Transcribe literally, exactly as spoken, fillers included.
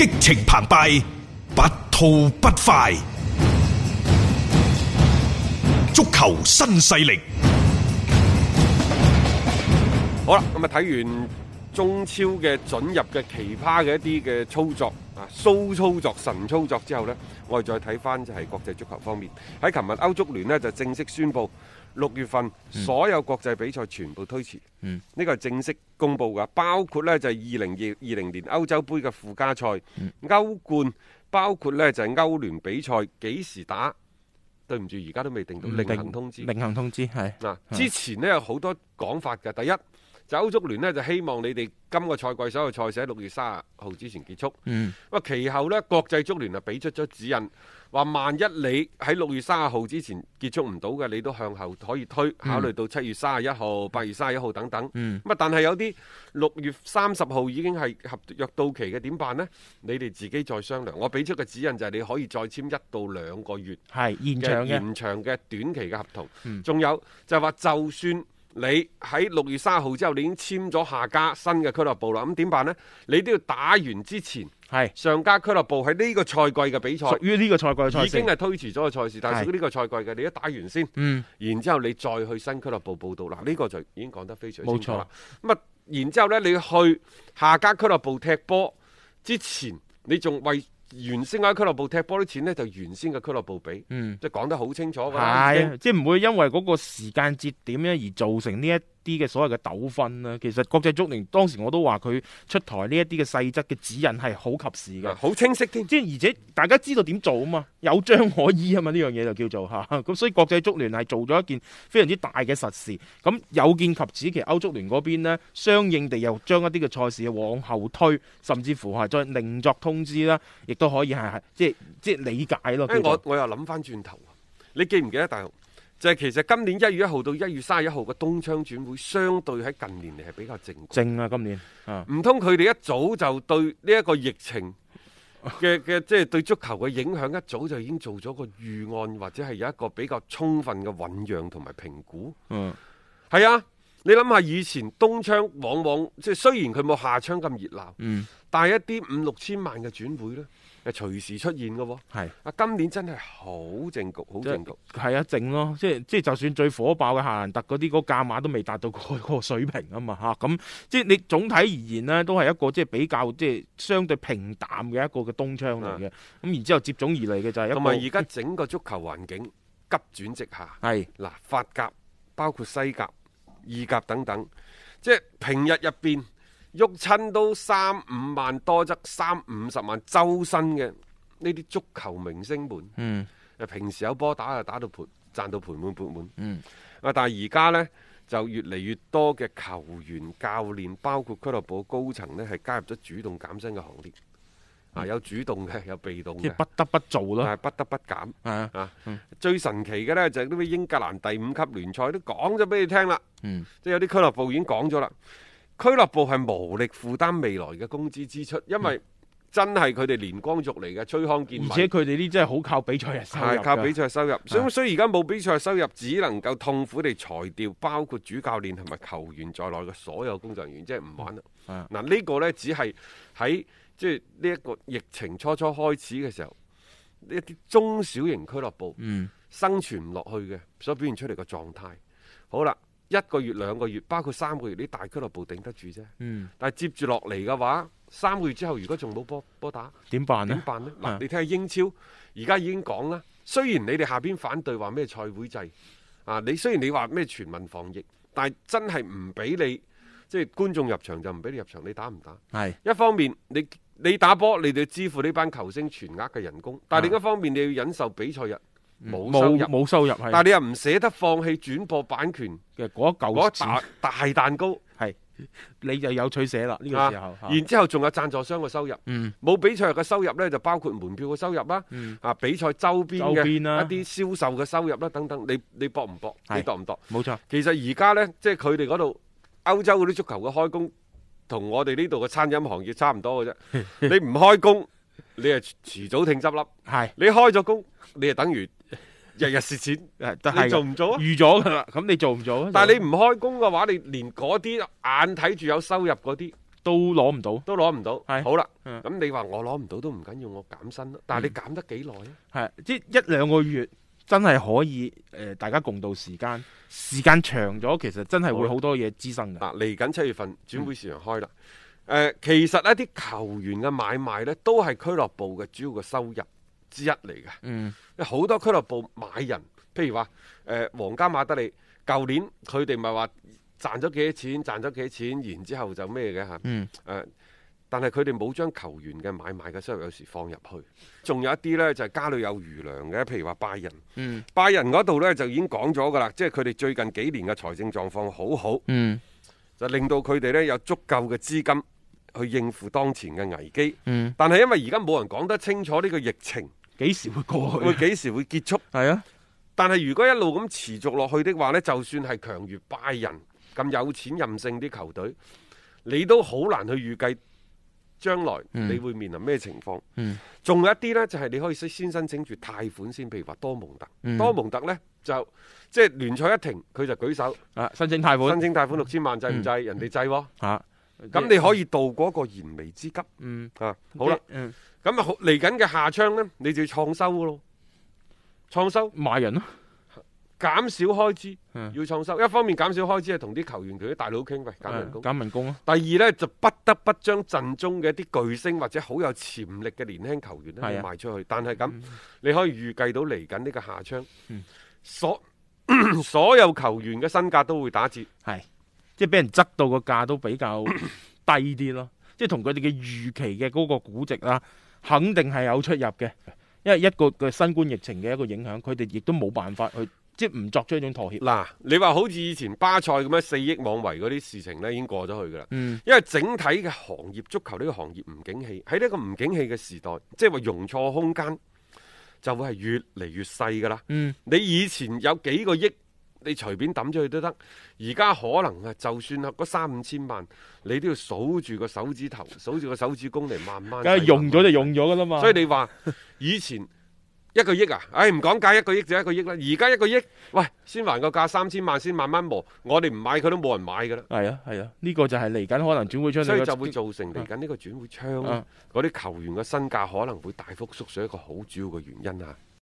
激情澎湃，不吐不快。足球新勢力。 好啦，咁啊睇完中超嘅准入嘅奇葩嘅一啲嘅操作啊，騷操作、神操作之後呢，我哋再睇翻就係國際足球方面。喺琴日歐足聯呢就正式宣布，六月份所有國際比賽全部推遲。嗯，呢個係正式公布噶，包括呢就係二零二二零年歐洲杯嘅附加賽、嗯、歐冠，包括呢就係歐聯比賽幾時打？對唔住，而家都未定到，另行通知。 另行通知係嗱，之前呢有好多講法嘅。第一就歐足聯呢就希望你哋今個賽季所有賽事喺六月三十號之前結束。嗯，咁其後呢國際足聯啊俾出咗指引，話萬一你喺六月三十號之前結束唔到嘅，你都向後可以推，考慮到七月三十一號、八月三十一號等等。嗯，咁啊，但係有啲六月三十號已經係合約到期嘅，點辦呢？你哋自己再商量。我俾出嘅指引就係你可以再簽一到兩個月係延長嘅延長嘅短期嘅合同。仲、 嗯、 有就係話，就算你喺六月三十號之後，你已經簽咗下家新嘅俱樂部啦，咁點辦呢？你都要打完之前，係上家俱樂部喺呢個賽季嘅比賽， 屬於呢個賽季嘅賽事， 已經係推遲咗嘅賽事，但係屬於呢個賽季嘅，你一打完先，嗯，然之後你再去新俱樂部報到，嗱、這、呢個就已經講得非常清楚啦。咁啊，然之後呢，你去下家俱樂部踢波之前，你仲為原先喺俱樂部踢波啲錢呢，就原先嘅俱樂部俾，嗯，即係講得好清楚㗎啦， 係，即係唔會因為嗰個時間節點咧而造成呢一啲嘅所謂嘅糾紛啦。其實國際足聯當時我都話佢出台呢一啲嘅細則嘅指引係好及時嘅， 好清晰添， 即係而且大家知道點做啊嘛，有章可依啊嘛，呢樣嘢就叫做嚇。咁所以國際足聯係做咗一件非常之大嘅實事。咁有見及此，其實歐足聯嗰邊呢，相應地又將一啲嘅賽事往後推，甚至乎係再另作通知啦，亦都可以係係即係即係理解咯。 誒，我我又諗翻轉頭，你記唔記得大雄？就係、是、其實今年一月一號到一月三十一號嘅冬窗轉會，相對喺近年嚟係比較靜。 靜啊，今年唔通佢哋一早就對呢一個疫情嘅嘅即係對足球嘅影響，一早就已經做咗個預案，或者係有一個比較充分嘅醖釀同埋評估。嗯，係啊，你諗下以前冬窗往往即係雖然佢冇夏窗咁熱鬧，嗯，但係一啲五六千萬嘅轉會咧，係隨時出現嘅喎。係啊，今年真係好靜局，好靜局。 係啊，靜咯，即係即係就算最火爆嘅夏蘭特嗰啲，嗰個價碼都未達到嗰個水平啊嘛嚇。咁即係你總體而言呢，都係一個即係比較即係相對平淡嘅一個嘅冬窗嚟嘅。咁、嗯、然之後接踵而嚟嘅就係一個同埋而家整個足球環境急轉直下。係嗱，法甲包括西甲、意甲等等，即係平日入邊喐親都三五萬多則三五十萬周薪嘅呢啲足球明星們，嗯，平時有波打就打到盤賺到盤滿缽滿，嗯，啊，但係而家呢，就越嚟越多嘅球員、教練，包括俱樂部高層呢，係加入咗主動減薪嘅行列，嗯、啊，有主動嘅，有被動嘅， 即係不得不做咯， 係不得不減， 啊， 啊嗯、最神奇嘅呢，就係呢啲英格蘭第五級聯賽都講咗俾你聽啦，嗯，即係有啲俱樂部已經講咗啦。俱樂部係無力負擔未來嘅工資支出，因為真係佢哋連光族嚟嘅，吹康健， 而且佢哋呢真係好靠比賽日收入， 係靠比賽收入。所以所以而家冇比賽收入，只能夠痛苦地裁掉包括主教練同埋球員在內嘅所有工作人員，即係唔玩啦。嗱、嗯、呢、呢個呢，只係喺即係呢一個疫情初初開始嘅時候，呢一啲中小型俱樂部生存唔落去嘅所表現出嚟嘅狀態。好啦。一個月兩個月，包括三個月，啲大俱樂部頂得住啫。嗯，但係接住落嚟嘅話，三個月之後如果仲冇波波打，點辦呢？點辦呢？嗱、啊，你睇下英超，而家已經講啦。雖然你哋下邊反對話咩賽會制，啊，你雖然你話咩全民防疫，但係真係唔俾你，即係觀眾入場就唔俾你入場，你打唔打？係一方面，你你打波，你哋要支付呢班球星全額嘅人工，但係另一方面，你要忍受比賽日。冇收入，冇收入，但係你又唔捨得放棄轉播版權嘅嗰一嚿大大蛋糕，係你就有取捨啦呢個時候。啊、然之後仲有贊助商嘅收入，冇、嗯、比賽日嘅收入呢，就包括門票嘅收入啦、嗯，啊比賽周邊嘅一啲銷售嘅收入啦等等，你你搏唔搏？你度唔度？冇錯。其實而家呢，即係佢哋嗰度歐洲嗰啲足球嘅開工，同我哋呢度嘅餐飲行業差唔多嘅啫。你唔開工，你係遲早聽執笠。係你開咗工，你係等於。日日蝕錢，你做唔做啊？預咗噶啦，咁你做唔做啊？但係你唔開工嘅話，你連嗰啲眼睇住有收入嗰啲， 都攞唔到， 都攞唔到。 係好啦， 嗯咁你話我攞唔到都唔緊要，我減薪啦。但係你減得幾耐啊？ 係即係一兩個月真係可以誒、呃，大家共度時間。時間長咗，其實真係會好多嘢滋生嘅。 嗱，嚟緊七月份轉會市場開啦。誒、嗯呃，其實一啲球員嘅買賣呢，都係俱樂部嘅主要嘅收入之一嚟嘅。 嗯， 好多俱樂部買人，譬如話誒皇家馬德里，舊年佢哋咪話賺咗幾多錢，賺咗幾多錢，然之後就咩嘅嚇。嗯。誒、呃，但係佢哋冇將球員嘅買賣嘅收入有時放入去。仲有一啲呢，就係、是、家裏有餘糧嘅，譬如話拜仁。嗯。拜仁嗰度呢，就已經講咗㗎啦，即係佢哋最近幾年嘅財政狀況好好。嗯。就令到佢哋呢有足夠嘅資金去應付當前嘅危機。嗯。但係因為而家冇人講得清楚呢個疫情幾時會過去， 會幾時會結束？係啊。但係如果一路咁持續落去的話呢，就算係強如拜仁咁有錢任性啲球隊，你都好難去預計將來你會面臨咩情況。嗯。仲有一啲呢，就係、是、你可以先申請住貸款先，譬如話多蒙特。嗯、多蒙特呢，就即係聯賽一停，佢就舉手啊，申請貸款， 申請貸款六千萬，制唔制？嗯、人哋制喎。嚇、啊。咁你可以渡過一個燃眉之急。嗯。啊，好啦。嗯。咁啊，嚟緊嘅夏窗呢，你就要創收噶咯。創收賣人咯， 減少開支，嗯、要創收。一方面減少開支係同啲球員佢啲大佬傾，喂，減人工， 減人工啊。 第二呢，就不得不將陣中嘅一啲巨星或者好有潛力嘅年輕球員咧賣出去。但係咁，嗯、你可以預計到嚟緊呢個夏窗，嗯、所所有球員嘅身價都會打折， 係即係俾人執到個價都比較低啲咯。即係同佢哋嘅預期嘅嗰個估值啦，肯定係有出入嘅。因為一個嘅新冠疫情嘅一個影響，佢哋亦都冇辦法去即係唔作出一種妥協。 嗱，你話好似以前巴塞咁樣四億妄為嗰啲事情呢，已經過咗去噶啦。嗯，因為整體嘅行業，足球呢個行業唔景氣，喺呢個唔景氣嘅時代，即係話容錯空間就會係越嚟越細噶啦。嗯，你以前有幾個億，你隨便抌咗去都得，而家可能啊，就算係嗰三五千萬，你都要數住個手指頭，數住個手指公嚟慢慢。 梗係用咗就用咗噶啦嘛。 所以你話以前一個億啊，唉唔講價，一個億就一個億啦。而家一個億，喂，先還個價三千萬，先慢慢磨。我哋唔買佢都冇人買噶啦。 係啊係啊，呢、這個就係嚟緊可能轉會窗， 所以就會造成嚟緊呢個轉會窗嗰啲、啊、球員嘅身價可能會大幅縮水一個好主要嘅原因啊。